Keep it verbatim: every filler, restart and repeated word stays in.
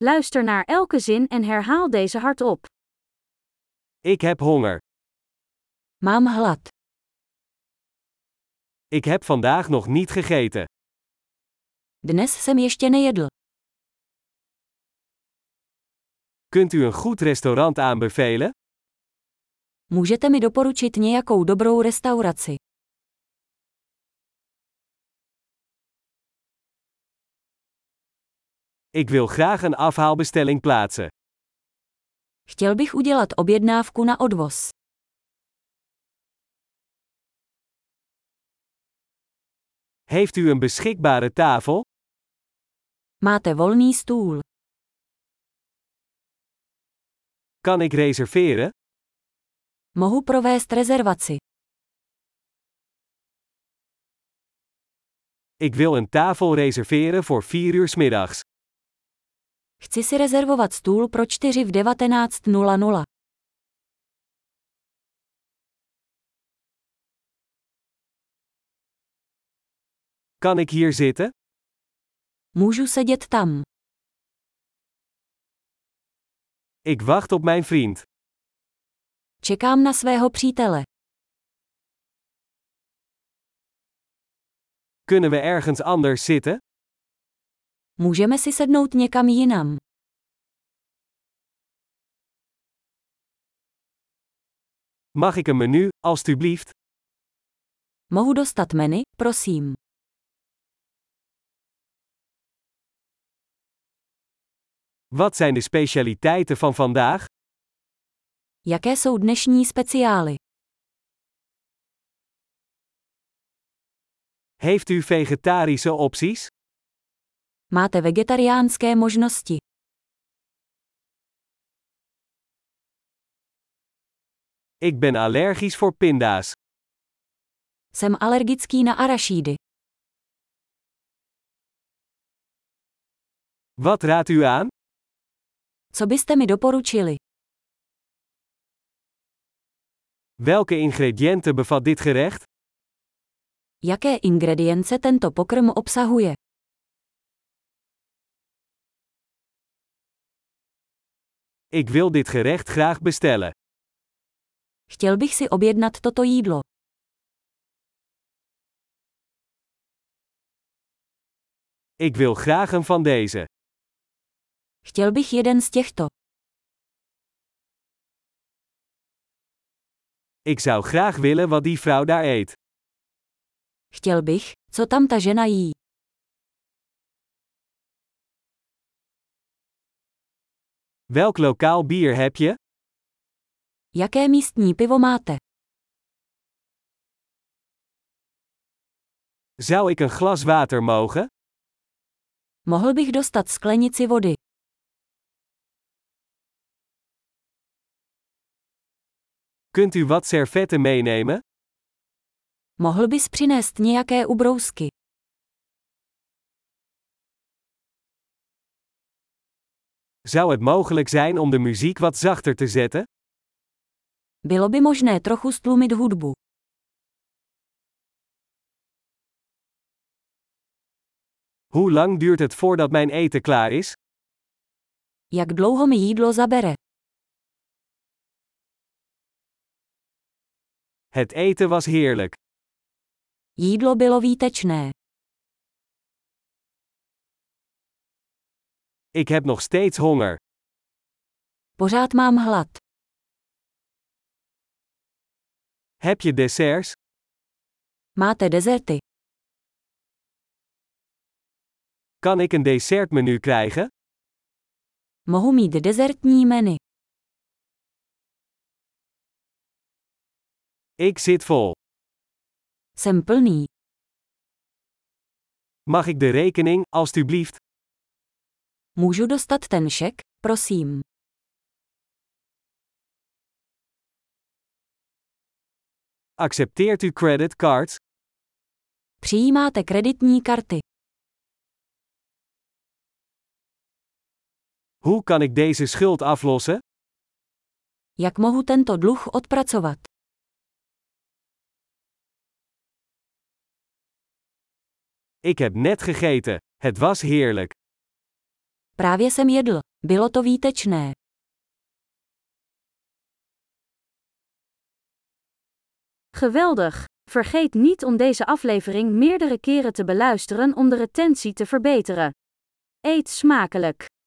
Luister naar elke zin en herhaal deze hardop. Ik heb honger. Mám hlad. Ik heb vandaag nog niet gegeten. Dnes jsem ještě nejedl. Kunt u een goed restaurant aanbevelen? Můžete mi doporučit nějakou dobrou restauraci? Ik wil graag een afhaalbestelling plaatsen. Chtěl bych udělat objednávku na odvoz. Heeft u een beschikbare tafel? Máte volný stůl. Kan ik reserveren? Mohu provést rezervaci. Ik wil een tafel reserveren voor vier uur 's middags. Chci si rezervovat stůl pro čtyři v devatenáct nula nula. Kan ik hier zitten? Můžu sedět tam. Ik wacht op mijn vriend. Čekám na svého přítele. Kunnen we ergens anders zitten? Můžeme si sednout někam jinam. Mag ik een menu, alstublieft? Mohu dostat menu, prosím. Wat zijn de specialiteiten van vandaag? Jaké jsou dnešní speciály? Heeft u vegetarische opties? Máte vegetariánské možnosti. Ik ben allergisch voor pinda's. Jsem alergický na arašídy. Wat raadt u aan? Co byste mi doporučili? Welke ingrediënten bevat dit gerecht? Jaké ingredience tento pokrm obsahuje? Ik wil dit gerecht graag bestellen. Chtěl bych si objednat toto jídlo. Ik wil graag een van deze. Chtěl bych jeden z těchto. Ik zou graag willen wat die vrouw daar eet. Chtěl bych, co tam ta žena jí. Welk lokaal bier heb je? Jaké místní pivo máte? Zou ik een glas water mogen? Mohl bych dostat sklenici vody. Kunt u wat servetten meenemen? Mohl bys přinést nějaké ubrousky. Zou het mogelijk zijn om de muziek wat zachter te zetten? Bylo by možné trochu stlumit hudbu. Hoe lang duurt het voordat mijn eten klaar is? Jak dlouho mi jídlo zabere? Het eten was heerlijk. Jídlo bylo výtečné. Ik heb nog steeds honger. Pořád mám hlad. Heb je desserts? Máte dezerty? Kan ik een dessertmenu krijgen? Mohu mít dezertní menu. Ik zit vol. Jsem plný. Mag ik de rekening, alstublieft? Můžu dostat ten šek, prosím. Accepteert u credit cards? Přijímáte kreditní karty. Hoe kan ik deze schuld aflossen? Jak mohu tento dluh odpracovat? Ik heb net gegeten. Het was heerlijk. Právě jsem jedl. Bylo to výtečné. Geweldig! Vergeet niet om deze aflevering meerdere keren te beluisteren om de retentie te verbeteren. Eet smakelijk!